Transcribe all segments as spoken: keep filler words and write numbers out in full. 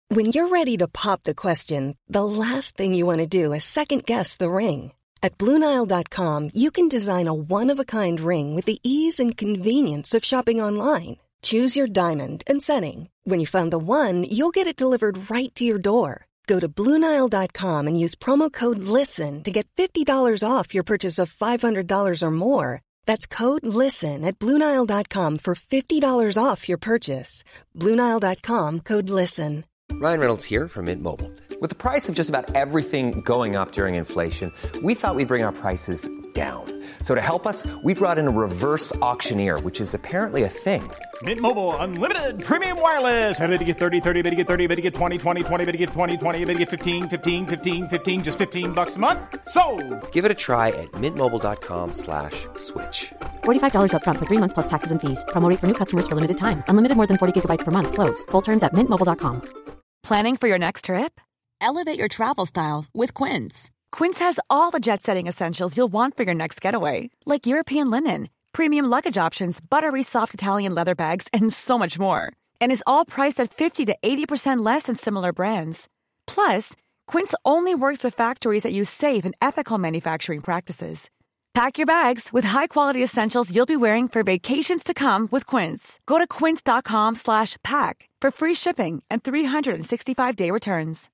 When you're ready to pop the question, the last thing you want to do is second-guess the ring. At Blue Nile dot com, you can design a one-of-a-kind ring with the ease and convenience of shopping online. Choose your diamond and setting. When you find the one, you'll get it delivered right to your door. Go to Blue Nile dot com and use promo code LISTEN to get fifty dollars off your purchase of five hundred dollars or more. That's code LISTEN at Blue Nile dot com for fifty dollars off your purchase. Blue Nile dot com, code LISTEN. Ryan Reynolds here from Mint Mobile. With the price of just about everything going up during inflation, we thought we'd bring our prices down. So to help us, we brought in a reverse auctioneer, which is apparently a thing. Mint Mobile Unlimited Premium Wireless. How to get thirty, thirty, how to get thirty, how to get twenty, twenty, twenty, how to get twenty, twenty, how to get fifteen, fifteen, fifteen, fifteen, just fifteen bucks a month? Sold! Give it a try at mintmobile.com slash switch. forty-five dollars up front for three months plus taxes and fees. Promo rate for new customers for limited time. Unlimited more than forty gigabytes per month. Slows full terms at mint mobile dot com. Planning for your next trip? Elevate your travel style with Quince. Quince has all the jet-setting essentials you'll want for your next getaway, like European linen, premium luggage options, buttery soft Italian leather bags, and so much more. And is all priced at fifty to eighty percent less than similar brands. Plus, Quince only works with factories that use safe and ethical manufacturing practices. Pack your bags with high-quality essentials you'll be wearing for vacations to come with Quince. Go to quince.com slash pack for free shipping and three sixty-five day returns.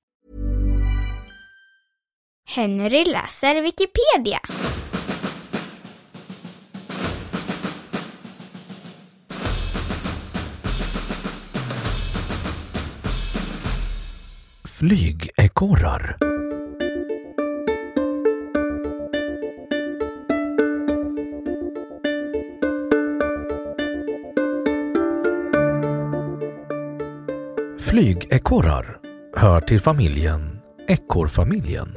Henry läser Wikipedia. Flygekorrar. Flygekorrar hör till familjen ekorrfamiljen.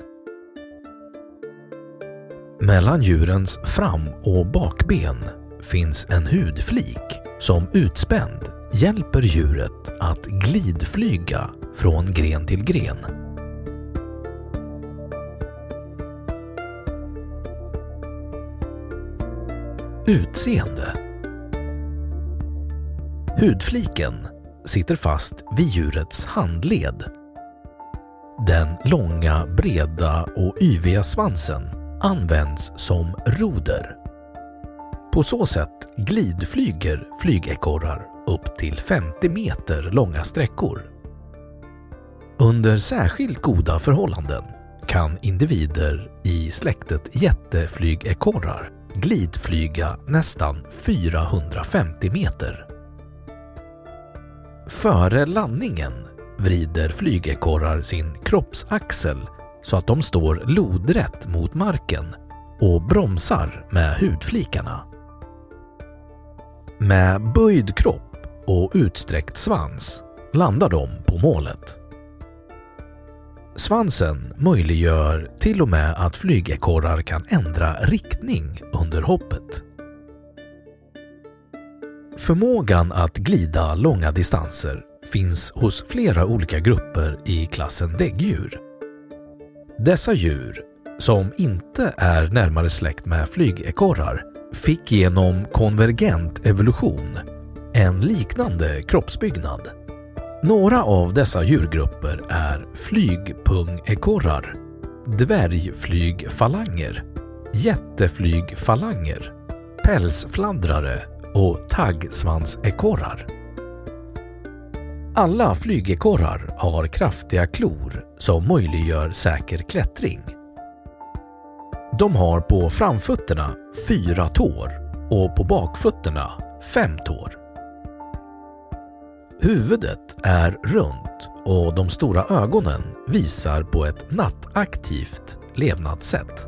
Mellan djurens fram- och bakben finns en hudflik som utspänd hjälper djuret att glidflyga från gren till gren. Utseende. Hudfliken sitter fast vid djurets handled. Den långa, breda och yviga svansen används som roder. På så sätt glidflyger flygekorrar upp till femtio meter långa sträckor. Under särskilt goda förhållanden kan individer i släktet jätteflygekorrar glidflyga nästan fyrahundrafemtio meter. Före landningen vrider flygekorrar sin kroppsaxel så att de står lodrätt mot marken och bromsar med hudflikarna. Med böjd kropp och utsträckt svans landar de på målet. Svansen möjliggör till och med att flygekorrar kan ändra riktning under hoppet. Förmågan att glida långa distanser finns hos flera olika grupper i klassen däggdjur. Dessa djur, som inte är närmare släkt med flygekorrar, fick genom konvergent evolution en liknande kroppsbyggnad. Några av dessa djurgrupper är flygpungekorrar, dvärgflygfalanger, jätteflygfalanger, pälsfladdrare och taggsvansekorrar. Alla flygekorrar har kraftiga klor som möjliggör säker klättring. De har på framfötterna fyra tår och på bakfötterna fem tår. Huvudet är runt och de stora ögonen visar på ett nattaktivt levnadssätt.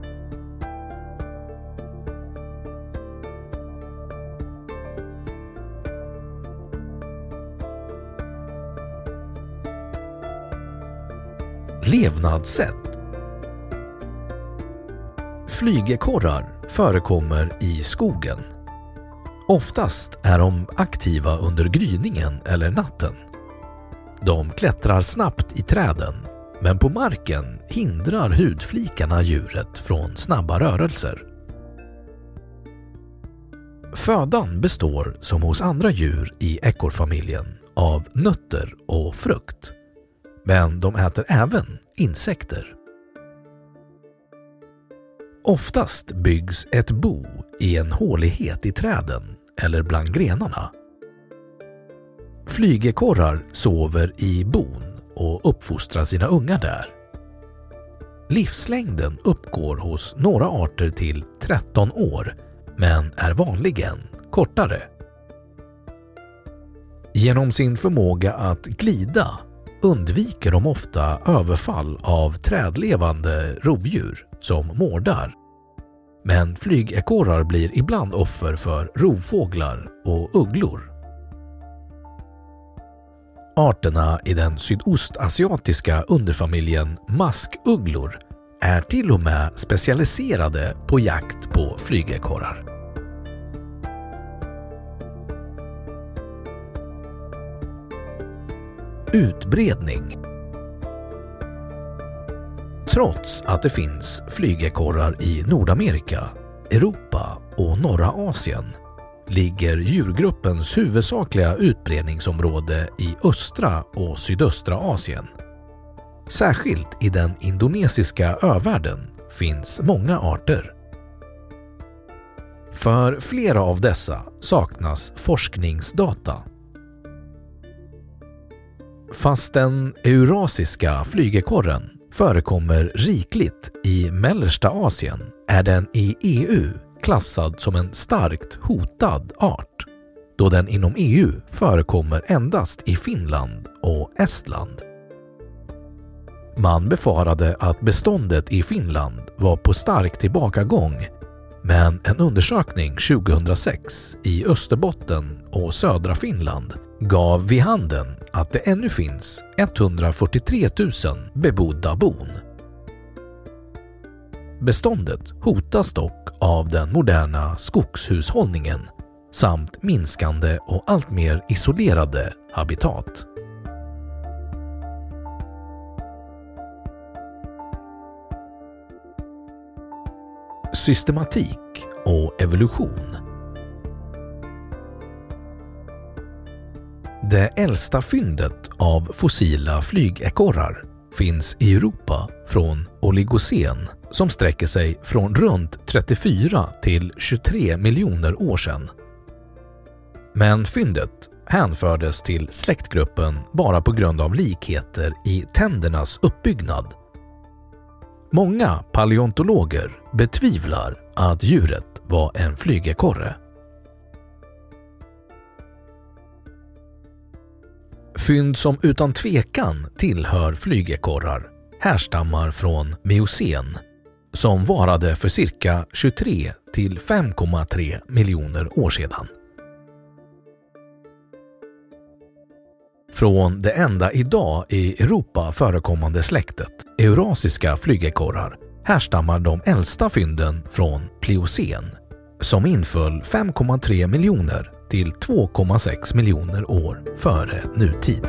Levnadssätt. Flygekorrar förekommer i skogen. Oftast är de aktiva under gryningen eller natten. De klättrar snabbt i träden, men på marken hindrar hudflikarna djuret från snabba rörelser. Födan består som hos andra djur i ekorrfamiljen av nötter och frukt. men de äter även insekter. Oftast byggs ett bo i en hålighet i träden eller bland grenarna. Flygekorrar sover i bon och uppfostrar sina ungar där. Livslängden uppgår hos några arter till tretton år, men är vanligen kortare. Genom sin förmåga att glida undviker de ofta överfall av trädlevande rovdjur som mårdar. Men flygekorrar blir ibland offer för rovfåglar och ugglor. Arterna i den sydostasiatiska underfamiljen maskugglor är till och med specialiserade på jakt på flygekorrar. Utbredning. Trots att det finns flygekorrar i Nordamerika, Europa och norra Asien ligger djurgruppens huvudsakliga utbredningsområde i östra och sydöstra Asien. Särskilt i den indonesiska övärlden finns många arter. För flera av dessa saknas forskningsdata. Fast den eurasiska flygekorren förekommer rikligt i mellersta Asien är den i E U klassad som en starkt hotad art, då den inom E U förekommer endast i Finland och Estland. Man befarade att beståndet i Finland var på stark tillbakagång, men en undersökning tjugohundrasex i Österbotten och södra Finland gav vid handen att det ännu finns etthundrafyrtiotre tusen bebodda bon. Beståndet hotas dock av den moderna skogshushållningen samt minskande och allt mer isolerade habitat. Systematik och evolution. Det äldsta fyndet av fossila flygekorrar finns i Europa från oligocen som sträcker sig från runt trettiofyra till tjugotre miljoner år sedan. Men fyndet hänfördes till släktgruppen bara på grund av likheter i tändernas uppbyggnad. Många paleontologer betvivlar att djuret var en flygekorre. Fynd som utan tvekan tillhör flygekorrar härstammar från Miocen, som varade för cirka tjugotre till fem komma tre miljoner år sedan. Från det enda idag i Europa förekommande släktet, eurasiska flygekorrar, härstammar de äldsta fynden från Pliocen, som inföll fem komma tre miljoner till två komma sex miljoner år före nutid.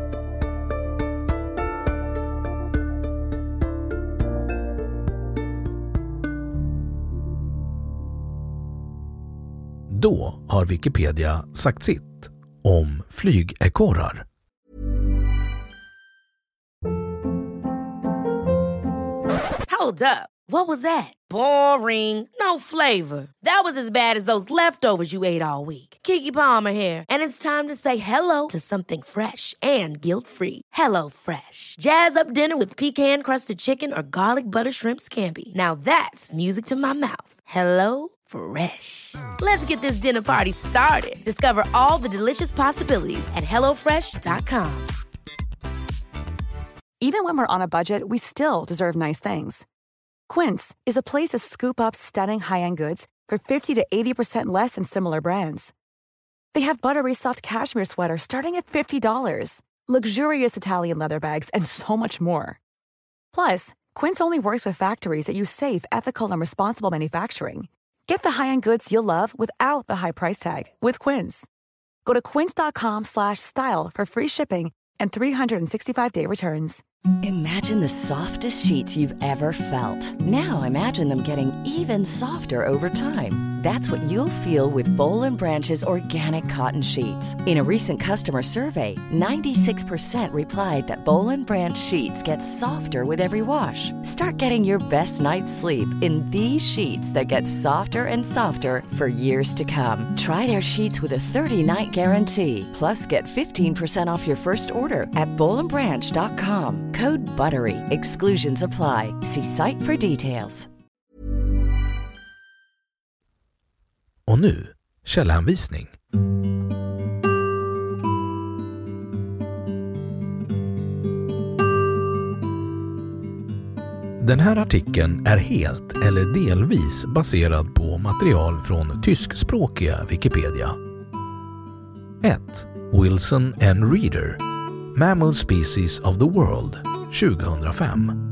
Då har Wikipedia sagt sitt om flygekorrar. Hold up. What was that? Boring. No flavor. That was as bad as those leftovers you ate all week. Keke Palmer here, and it's time to say hello to something fresh and guilt-free. Hello Fresh. Jazz up dinner with pecan-crusted chicken or garlic butter shrimp scampi. Now that's music to my mouth. Hello Fresh. Let's get this dinner party started. Discover all the delicious possibilities at hello fresh dot com. Even when we're on a budget, we still deserve nice things. Quince is a place to scoop up stunning high-end goods for fifty to eighty percent less than similar brands. They have buttery soft cashmere sweaters starting at fifty dollars, luxurious Italian leather bags, and so much more. Plus, Quince only works with factories that use safe, ethical, and responsible manufacturing. Get the high-end goods you'll love without the high price tag with Quince. Go to quince dot com slash style for free shipping and three sixty-five day returns. Imagine the softest sheets you've ever felt. Now imagine them getting even softer over time. That's what you'll feel with Boll and Branch's organic cotton sheets. In a recent customer survey, ninety-six percent replied that Boll and Branch sheets get softer with every wash. Start getting your best night's sleep in these sheets that get softer and softer for years to come. Try their sheets with a thirty-night guarantee. Plus, get fifteen percent off your first order at boll and branch dot com. Code BUTTERY. Exclusions apply. See site for details. Och nu, källhänvisning. Den här artikeln är helt eller delvis baserad på material från tyskspråkiga Wikipedia. ett. Wilson and Reader, Mammal Species of the World, tjugohundrafem.